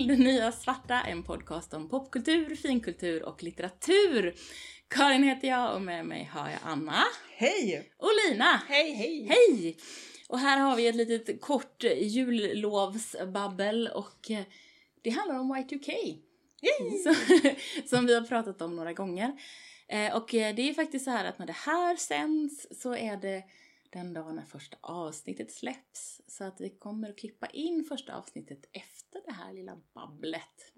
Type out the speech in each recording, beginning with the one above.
Det nya svarta, en podcast om popkultur, finkultur och litteratur. Karin heter jag och med mig har jag Anna. Hej! Och Lina. Hej, hej! Hej! Och här har vi ett litet kort jullovsbabbel och det handlar om Y2K. Som vi har pratat om några gånger. Och det är faktiskt så här att när det här sänds så är det den dagen när första avsnittet släpps. Så att vi kommer att klippa in första avsnittet efter det här lilla babblet.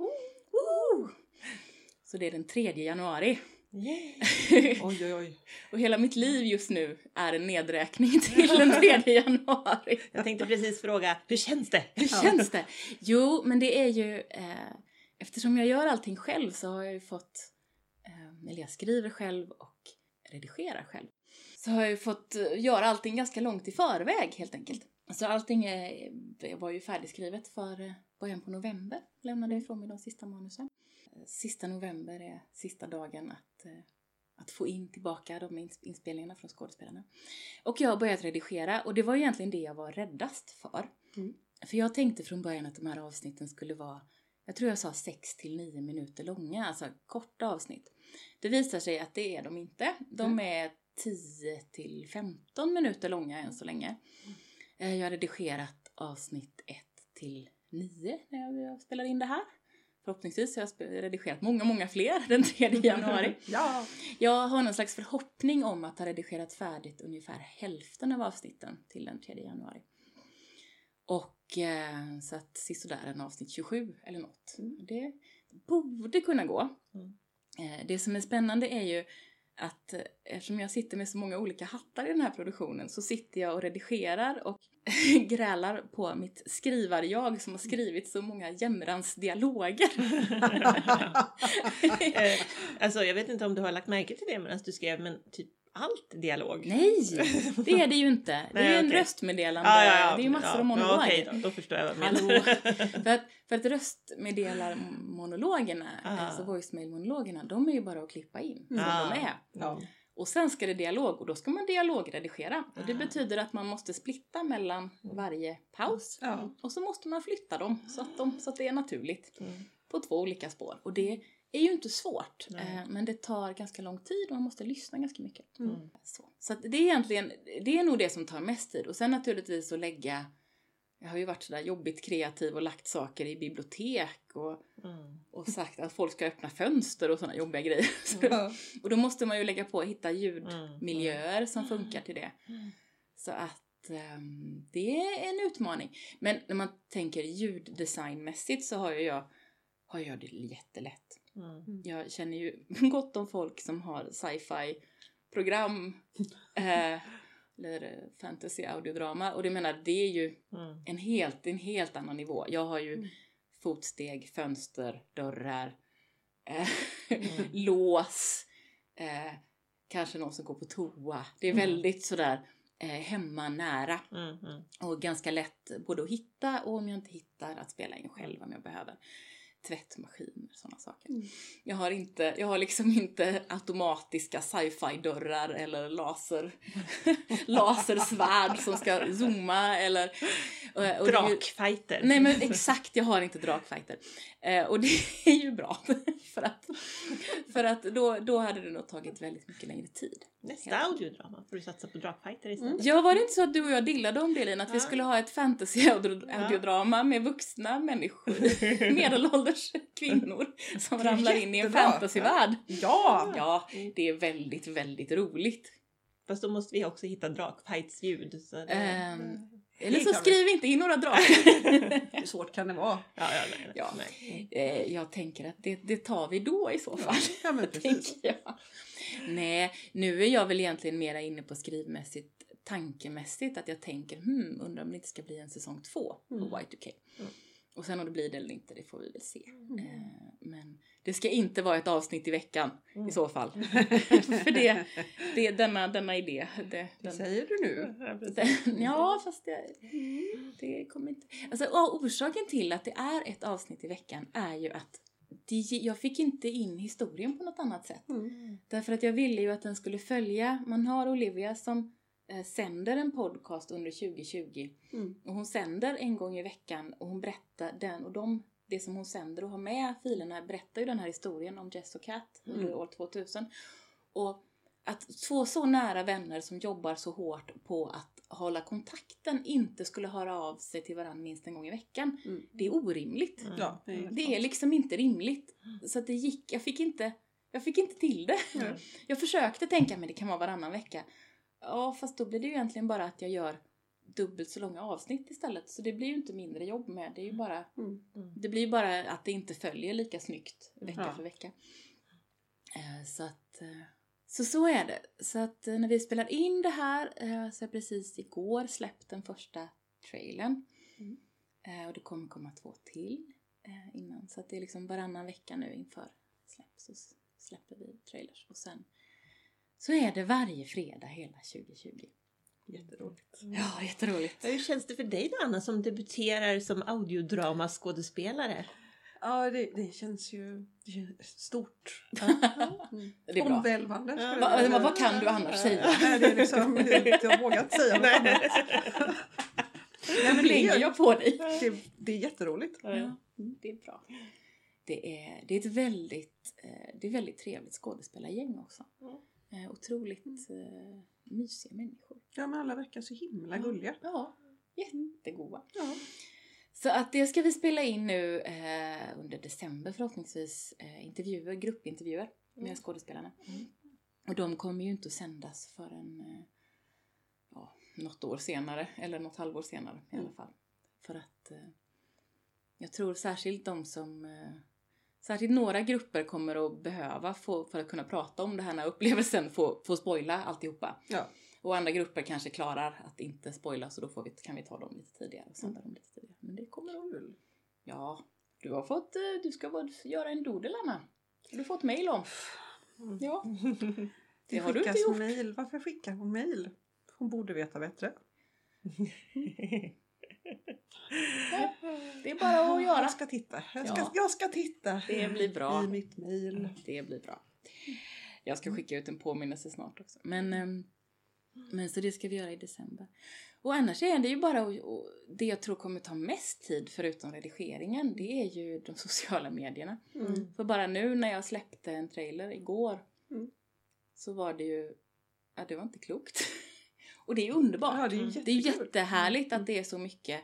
Så det är den 3 januari. Oj, oj, oj. Och hela mitt liv just nu är en nedräkning till den 3 januari. Jag tänkte precis fråga, hur känns det? Hur känns det? Jo, men det är ju... eftersom jag gör allting själv så har jag ju fått... eller jag skriver själv och redigerar själv. Så har jag ju fått göra allting ganska långt i förväg helt enkelt. Så allting var ju färdigskrivet för början på november. Lämnade ifrån mig de sista manusen. Sista november är sista dagen att få in tillbaka de inspelningarna från skådespelarna. Och jag har börjat redigera och det var egentligen det jag var räddast för. För jag tänkte från början att de här avsnitten skulle vara, jag tror jag sa 6-9 minuter långa, alltså korta avsnitt. Det visar sig att det är de inte. De är 10-15 minuter långa än så länge. Jag har redigerat avsnitt 1-9 när jag spelar in det här. Förhoppningsvis har jag redigerat många fler den 3 januari. Ja. Jag har någon slags förhoppning om att ha redigerat färdigt ungefär hälften av avsnitten till den 3 januari. Och så att sist och där en avsnitt 27 eller något. Det borde kunna gå. Det som är spännande är ju att eftersom jag sitter med så många olika hattar i den här produktionen så sitter jag och redigerar och grälar på mitt skrivarjag som har skrivit så många jämrans dialoger. Alltså jag vet inte om du har lagt märke till det medan du skrev, men typ allt dialog. Nej, det är det ju inte. Det är ju en röstmeddelande. Ja. Det är ju massor av monologer. Okej, då förstår jag vad du menar. För att röstmeddelarmonologerna, alltså voicemail-monologerna, de är ju bara att klippa in som de är. Ja. Och sen ska det dialog och då ska man dialogredigera. Och det betyder att man måste splitta mellan varje paus. Och så måste man flytta dem så att det är naturligt på 2 olika spår. Och det är ju inte svårt, men det tar ganska lång tid och man måste lyssna ganska mycket. Så att det är egentligen, det är nog det som tar mest tid. Och sen naturligtvis att lägga, jag har ju varit sådär jobbigt kreativ och lagt saker i bibliotek och sagt att folk ska öppna fönster och sådana jobbiga grejer. Och då måste man ju lägga på och hitta ljudmiljöer som funkar till det. Så att det är en utmaning. Men när man tänker ljuddesignmässigt så har jag det jättelätt. Jag känner ju gott om folk som har sci-fi program eller fantasy audiodrama, och det menar det är ju en helt annan nivå. Jag har ju fotsteg, fönster, dörrar, lås, kanske någon som går på toa. Det är väldigt sådär hemma nära och ganska lätt både att hitta och om jag inte hittar att spela in själv om jag behöver. Tvättmaskiner, sådana saker. Jag har liksom inte automatiska sci-fi-dörrar eller lasersvärd som ska zooma eller... Och drakfighter. Nej men exakt, jag har inte drakfighter. Och det är ju bra. för att då hade det nog tagit väldigt mycket längre tid. Nästa audiodrama får du satsa på drakfighter istället. Ja, var det inte så att du och jag dillade om det, Lina? Att vi skulle ha ett fantasy-audiodrama med vuxna människor, medelålders kvinnor som ramlar in i en fantasyvärld. Ja, det är väldigt, väldigt roligt. Fast då måste vi också hitta drakfights-ljud. Eller så skriv inte in några drakar. Hur svårt kan det vara? Jag tänker att det tar vi då i så fall. Ja, men precis. Nej, nu är jag väl egentligen mera inne på skrivmässigt, tankemässigt. Att jag tänker, undrar om det inte ska bli en säsong 2 på Y2K. Och sen om det blir det eller inte, det får vi väl se. Men det ska inte vara ett avsnitt i veckan i så fall. För det är denna idé. Det säger du nu. Ja, fast det kommer inte... Alltså, orsaken till att det är ett avsnitt i veckan är ju att jag fick inte in historien på något annat sätt. Därför att jag ville ju att den skulle följa... Man har Olivia som sänder en podcast under 2020. Och hon sänder en gång i veckan och hon berättar det som hon sänder och har med filerna berättar ju den här historien om Jess och Kat under år 2000. Och att två så nära vänner som jobbar så hårt på att hålla kontakten inte skulle höra av sig till varandra minst en gång i veckan. Det är orimligt. Ja, Det är liksom inte rimligt. Så att det gick, jag fick inte till det. Jag försökte tänka, men det kan vara varannan vecka. Ja, fast då blir det ju egentligen bara att jag gör dubbelt så långa avsnitt istället. Så det blir ju inte mindre jobb med. Det är ju bara, det blir ju bara att det inte följer lika snyggt vecka för vecka. Så är det. Så att när vi spelar in det här så är precis igår släppt den första trailern. Och det kommer komma 2 till innan. Så att det är liksom varannan vecka nu inför släpp. Så släpper vi trailers. Och sen så är det varje fredag hela 2020. Jätteroligt. Ja, jätteroligt. Hur känns det för dig då, Anna, som debuterar som audiodramaskådespelare? Ja, det känns ju stort. Det är bra. Omvälvande. Vad kan du annars säga? Nej, det är liksom, jag vågar inte säga något annat. Nej, men lägger jag på dig. Det är jätteroligt. Ja, det är bra. Det är ett väldigt trevligt skådespelargäng också. Otroligt mysiga människor. Ja, men alla verkar så himla gulliga. Ja, jättegoda. Ja. Så att det ska vi spela in nu under december förhoppningsvis. Gruppintervjuer med skådespelarna. Och de kommer ju inte att sändas förrän något år senare. Eller något halvår senare i alla fall. För att jag tror särskilt särskilt några grupper kommer att behöva för att kunna prata om den här upplevelsen få spoila alltihopa. Ja. Och andra grupper kanske klarar att inte spoila, så då kan vi ta dem lite tidigare och sända dem lite tidigare. Men det kommer de väl. Ja, du ska göra en doodle, Anna. Du har fått mejl om. Ja. Det har du inte gjort. Mail. Varför skickar hon mejl? Hon borde veta bättre. Ja, det är bara att göra. Jag ska titta. Jag ska titta. Det blir bra. I mitt mejl. Det blir bra. Jag ska skicka ut en påminnelse snart också. Men så det ska vi göra i december. Och annars är det ju bara det jag tror kommer ta mest tid förutom redigeringen. Det är ju de sociala medierna. För bara nu när jag släppte en trailer igår så var det ju, det var inte klokt. Och det är underbart. Ja, det är jättehärligt att det är så mycket.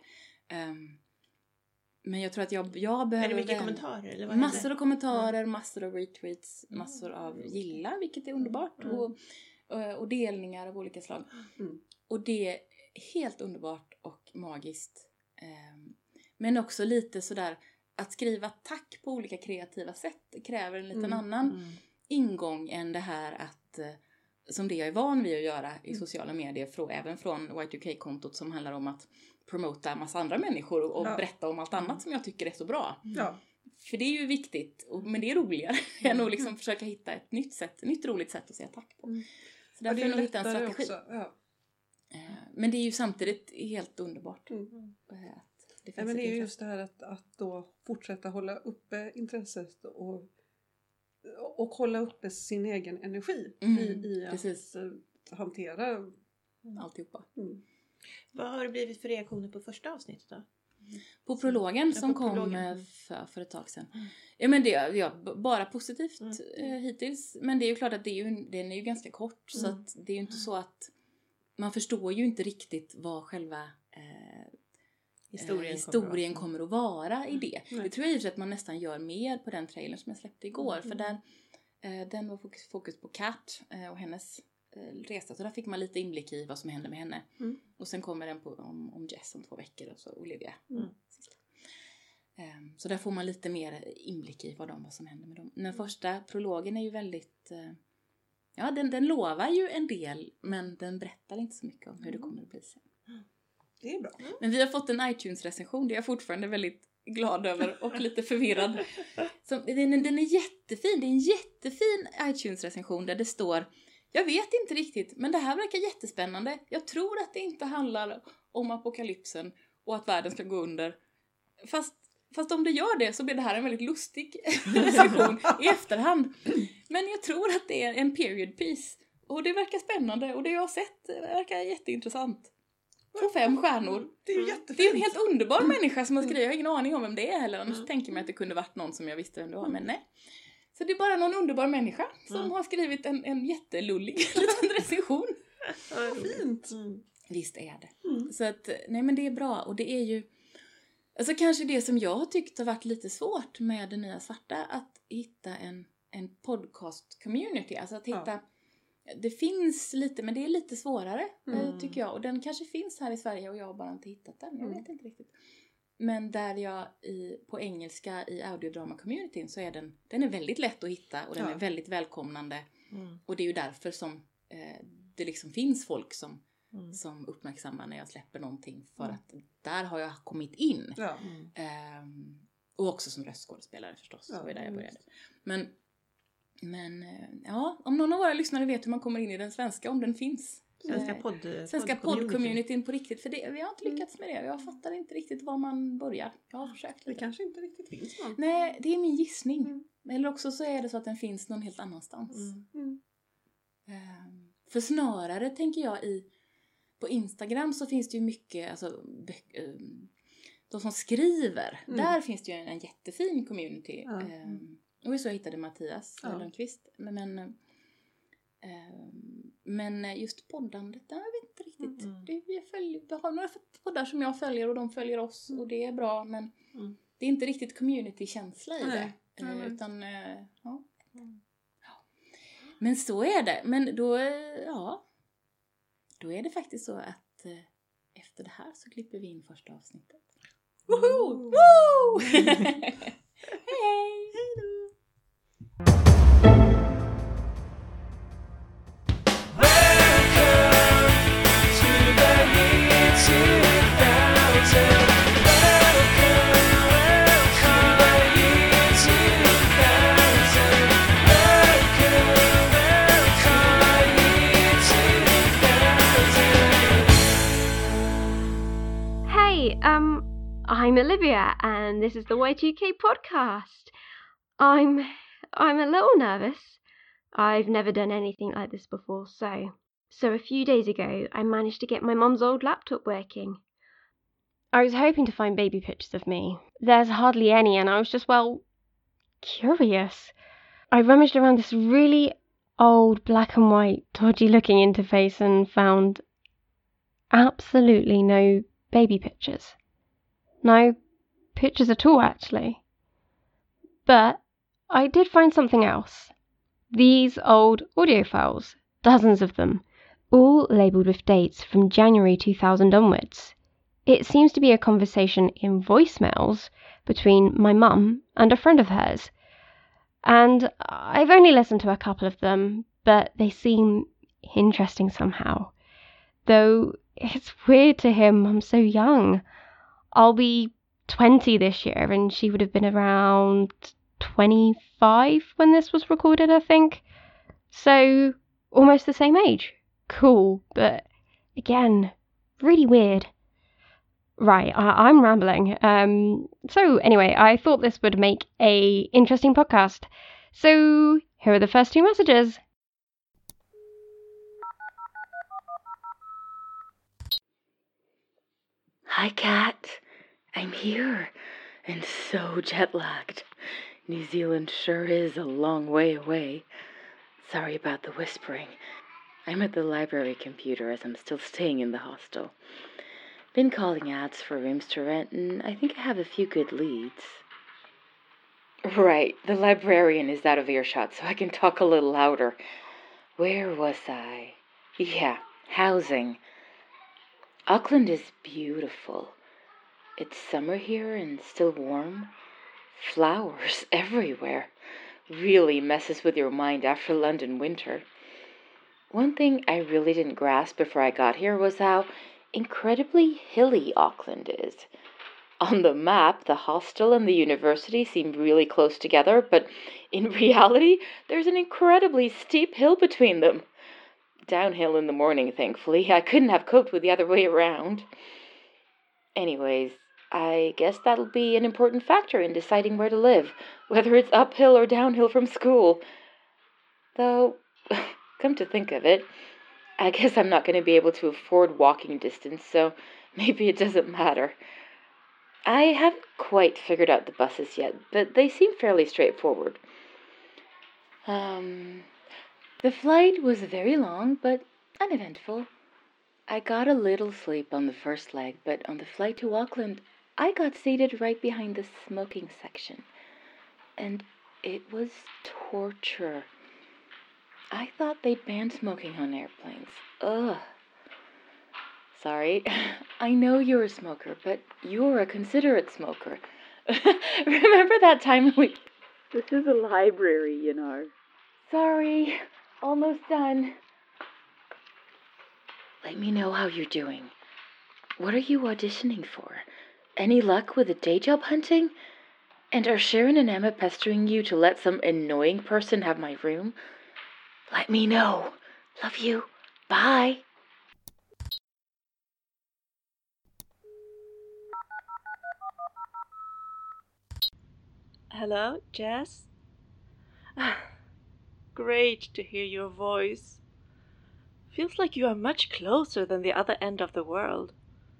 Men jag tror att jag behöver... Är det mycket kommentarer? Eller vad massor av kommentarer, massor av retweets, massor av gilla, vilket är underbart. Och delningar av olika slag. Och det är helt underbart och magiskt. Men också lite sådär, att skriva tack på olika kreativa sätt kräver en liten annan ingång än det här att... som det jag är van vid att göra i sociala medier, även från Y2K-kontot som handlar om att promota en massa andra människor och berätta om allt annat som jag tycker är så bra. Ja. För det är ju viktigt, men det är roligare än att liksom försöka hitta ett nytt roligt sätt att säga tack på. Så därför är det hitta en strategi. Också. Ja. Men det är ju samtidigt helt underbart. Men det är ju just det här att då fortsätta hålla uppe intresset och hålla uppe sin egen energi i att hantera alltihopa. Vad har det blivit för reaktioner på första avsnittet då? På prologen som kom för ett tag sedan. Ja, men det är bara positivt hittills. Men det är ju klart att den är ju ganska kort. Så att det är ju inte så att man förstår ju inte riktigt vad själva historien kommer att vara i det. Det tror jag i och för sig att man nästan gör mer på den trailern som jag släppte igår. För den var fokus på Kat och hennes resa. Så där fick man lite inblick i vad som hände med henne. Och sen kommer den om Jess om 2 veckor och så Olivia. Så där får man lite mer inblick i vad som hände med dem. Den första prologen är ju väldigt... den lovar ju en del, men den berättar inte så mycket om hur det kommer att bli sen. Det är bra. Men vi har fått en iTunes-recension. Det är jag fortfarande väldigt glad över och lite förvirrad. Den är jättefin. Det är en jättefin iTunes-recension där det står: jag vet inte riktigt, men det här verkar jättespännande. Jag tror att det inte handlar om apokalypsen och att världen ska gå under. Fast om det gör det så blir det här en väldigt lustig recension i efterhand. Men jag tror att det är en period piece. Och det verkar spännande. Och det jag har sett verkar jätteintressant. Får 5 stjärnor. Det är ju jättefint. Det är en helt underbar människa som har skrivit. Jag har ingen aning om vem det är heller. Annars tänker man att det kunde varit någon som jag visste vem det var. Men nej. Så det är bara någon underbar människa som har skrivit en jättelullig liten recension. Fint. Visst är det. Så att, nej men det är bra. Och det är ju, alltså kanske det som jag har tyckt har varit lite svårt med det nya svarta. Att hitta en podcast-community. Alltså att hitta, det finns lite, men det är lite svårare tycker jag. Och den kanske finns här i Sverige och jag har bara inte hittat den. Jag vet inte riktigt. Men där jag på engelska i audiodrama-communityn så är den är väldigt lätt att hitta och den är väldigt välkomnande. Och det är ju därför som det liksom finns folk som uppmärksammar när jag släpper någonting. För att där har jag kommit in. Ja. Och också som röstskådespelare förstås. Det var där jag började. Men ja, om någon av våra lyssnare vet hur man kommer in i den svenska, om den finns. Svenska podd-communityn på riktigt. För det, vi har inte lyckats med det. Jag fattar inte riktigt var man börjar. Jag har försökt lite. Det kanske inte riktigt finns någon. Nej, det är min gissning. Eller också så är det så att den finns någon helt annanstans. För snarare tänker jag på Instagram så finns det ju mycket, alltså de som skriver. Där finns det ju en jättefin community. Och så jag hittade Mattias Lundqvist. Men just poddandet, jag vet inte riktigt. Vi har några poddar som jag följer och de följer oss. Och det är bra, men det är inte riktigt community-känsla i det. Utan, Men så är det. Men då är det faktiskt så att efter det här så klipper vi in första avsnittet. Woho! Woo! Hej! Hej då! I'm Olivia, and this is the Y2K podcast. I'm a little nervous. I've never done anything like this before, so a few days ago, I managed to get my mum's old laptop working. I was hoping to find baby pictures of me. There's hardly any, and I was just, curious. I rummaged around this really old black and white, dodgy-looking interface and found absolutely no baby pictures. No pictures at all, actually. But I did find something else. These old audio files, dozens of them, all labelled with dates from January 2000 onwards. It seems to be a conversation in voicemails between my mum and a friend of hers. And I've only listened to a couple of them, but they seem interesting somehow. Though it's weird to hear Mum so young. I'll be 20 this year, and she would have been around 25 when this was recorded, I think. So, almost the same age. Cool, but again, really weird. Right, I'm rambling. So anyway, I thought this would make a interesting podcast. So, here are the first 2 messages. Hi, Kat. I'm here, and so jet-lagged. New Zealand sure is a long way away. Sorry about the whispering. I'm at the library computer as I'm still staying in the hostel. Been calling ads for rooms to rent, and I think I have a few good leads. Right, the librarian is out of earshot, so I can talk a little louder. Where was I? Yeah, housing. Auckland is beautiful. It's summer here and still warm. Flowers everywhere. Really messes with your mind after London winter. One thing I really didn't grasp before I got here was how incredibly hilly Auckland is. On the map, the hostel and the university seem really close together, but in reality, there's an incredibly steep hill between them. Downhill in the morning, thankfully. I couldn't have coped with the other way around. Anyways, I guess that'll be an important factor in deciding where to live, whether it's uphill or downhill from school. Though, come to think of it, I guess I'm not going to be able to afford walking distance, so maybe it doesn't matter. I haven't quite figured out the buses yet, but they seem fairly straightforward. The flight was very long, but uneventful. I got a little sleep on the first leg, but on the flight to Auckland, I got seated right behind the smoking section. And it was torture. I thought they'd ban smoking on airplanes. Ugh. Sorry, I know you're a smoker, but you're a considerate smoker. Remember that time we... This is a library, you know. Sorry, almost done. Let me know how you're doing. What are you auditioning for? Any luck with the day job hunting? And are Sharon and Emma pestering you to let some annoying person have my room? Let me know. Love you. Bye. Hello, Jess? Great to hear your voice. Feels like you are much closer than the other end of the world.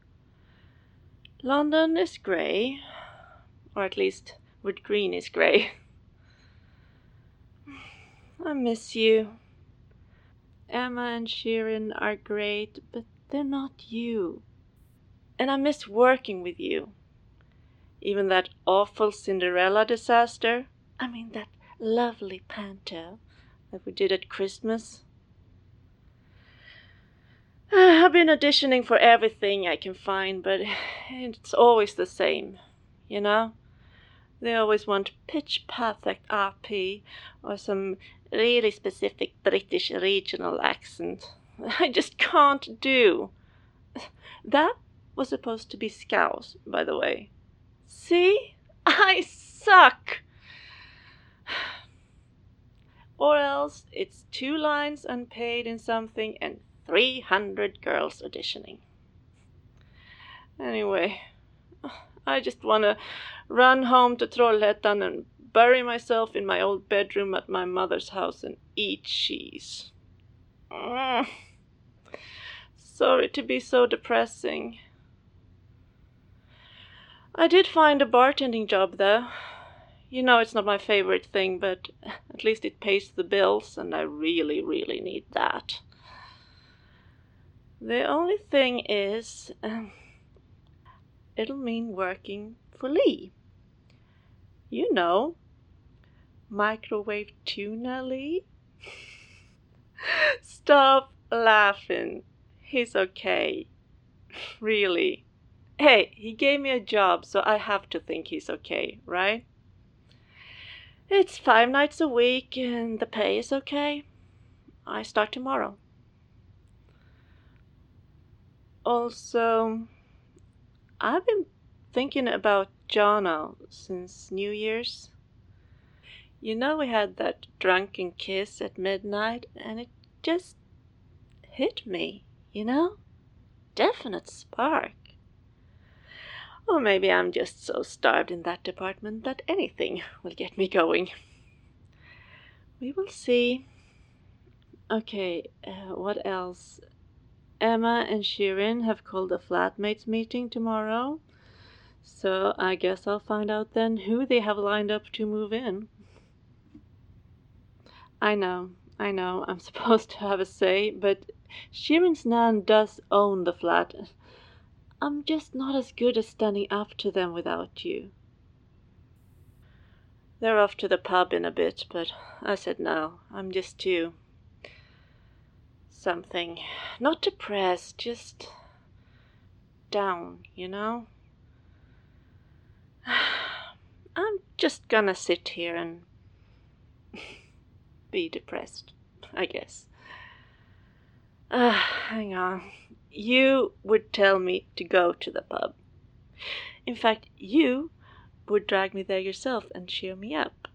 London is grey, or at least Wood Green is grey. I miss you. Emma and Sharon are great, but they're not you. And I miss working with you. Even that awful Cinderella disaster. I mean, that lovely panto that we did at Christmas. I've been auditioning for everything I can find, but it's always the same, you know? They always want pitch-perfect RP or some really specific British regional accent. I just can't do. That was supposed to be Scouse, by the way. See? I suck! Or else it's 2 lines unpaid in something and 300 girls auditioning. Anyway, I just want to run home to Trollhättan and bury myself in my old bedroom at my mother's house and eat cheese. Sorry to be so depressing. I did find a bartending job though. You know it's not my favorite thing, but at least it pays the bills and I really, really need that. The only thing is, it'll mean working for Lee. You know, microwave tuna Lee. Stop laughing. He's okay. Really. Hey, he gave me a job, so I have to think he's okay, right? It's 5 nights a week and the pay is okay. I start tomorrow. Also, I've been thinking about Jono since New Year's. You know, we had that drunken kiss at midnight and it just hit me, you know? Definite spark. Or maybe I'm just so starved in that department that anything will get me going. We will see. Okay, what else? Emma and Sharon have called a flatmates meeting tomorrow. So I guess I'll find out then who they have lined up to move in. I know, I'm supposed to have a say, but Sharon's nan does own the flat. I'm just not as good as standing up to them without you. They're off to the pub in a bit, but I said no. I'm just too... something. Not depressed, just... down, you know? I'm just gonna sit here and... be depressed, I guess. Hang on. You would tell me to go to the pub. In fact, you would drag me there yourself and cheer me up.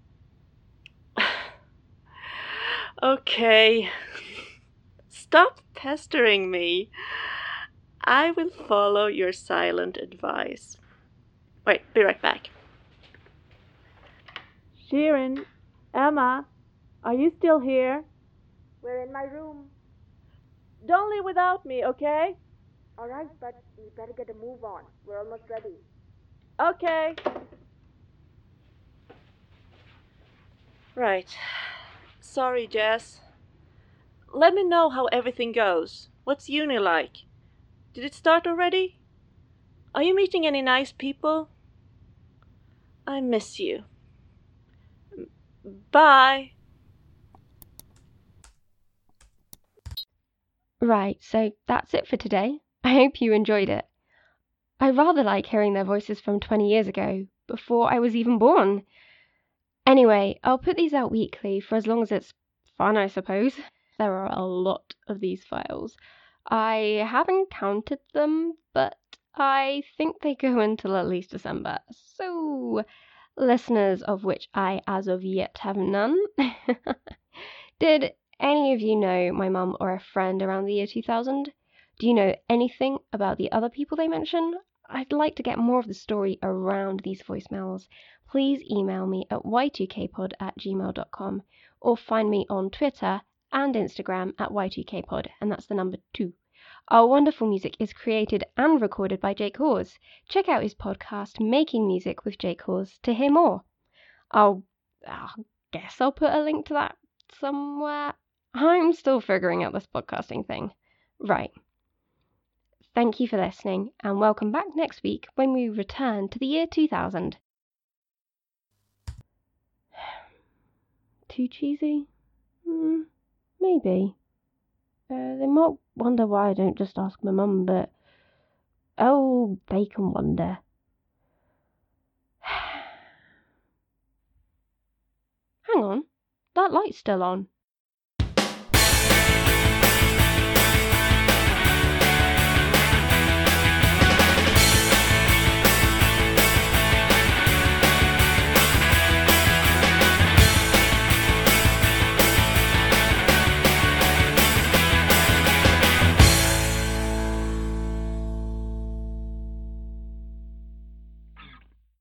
Okay. Stop pestering me. I will follow your silent advice. Wait, be right back. Sharon, Emma, are you still here? We're in my room. Don't leave without me, okay? All right, but we better get a move on. We're almost ready. Okay. Right. Sorry, Jess. Let me know how everything goes. What's uni like? Did it start already? Are you meeting any nice people? I miss you. Bye. Right, so that's it for today. I hope you enjoyed it. I rather like hearing their voices from 20 years ago, before I was even born. Anyway, I'll put these out weekly for as long as it's fun, I suppose. There are a lot of these files. I haven't counted them, but I think they go until at least December. So, listeners of which I as of yet have none, did any of you know my mum or a friend around the year 2000? Do you know anything about the other people they mention? I'd like to get more of the story around these voicemails. Please email me at y2kpod@gmail.com or find me on Twitter and Instagram at y2kpod, and that's the number 2. Our wonderful music is created and recorded by Jake Hawes. Check out his podcast, Making Music with Jake Hawes, to hear more. I guess I'll put a link to that somewhere. I'm still figuring out this podcasting thing. Right. Thank you for listening, and welcome back next week when we return to the year 2000. Too cheesy? Maybe. They might wonder why I don't just ask my mum, but... oh, they can wonder. Hang on, that light's still on.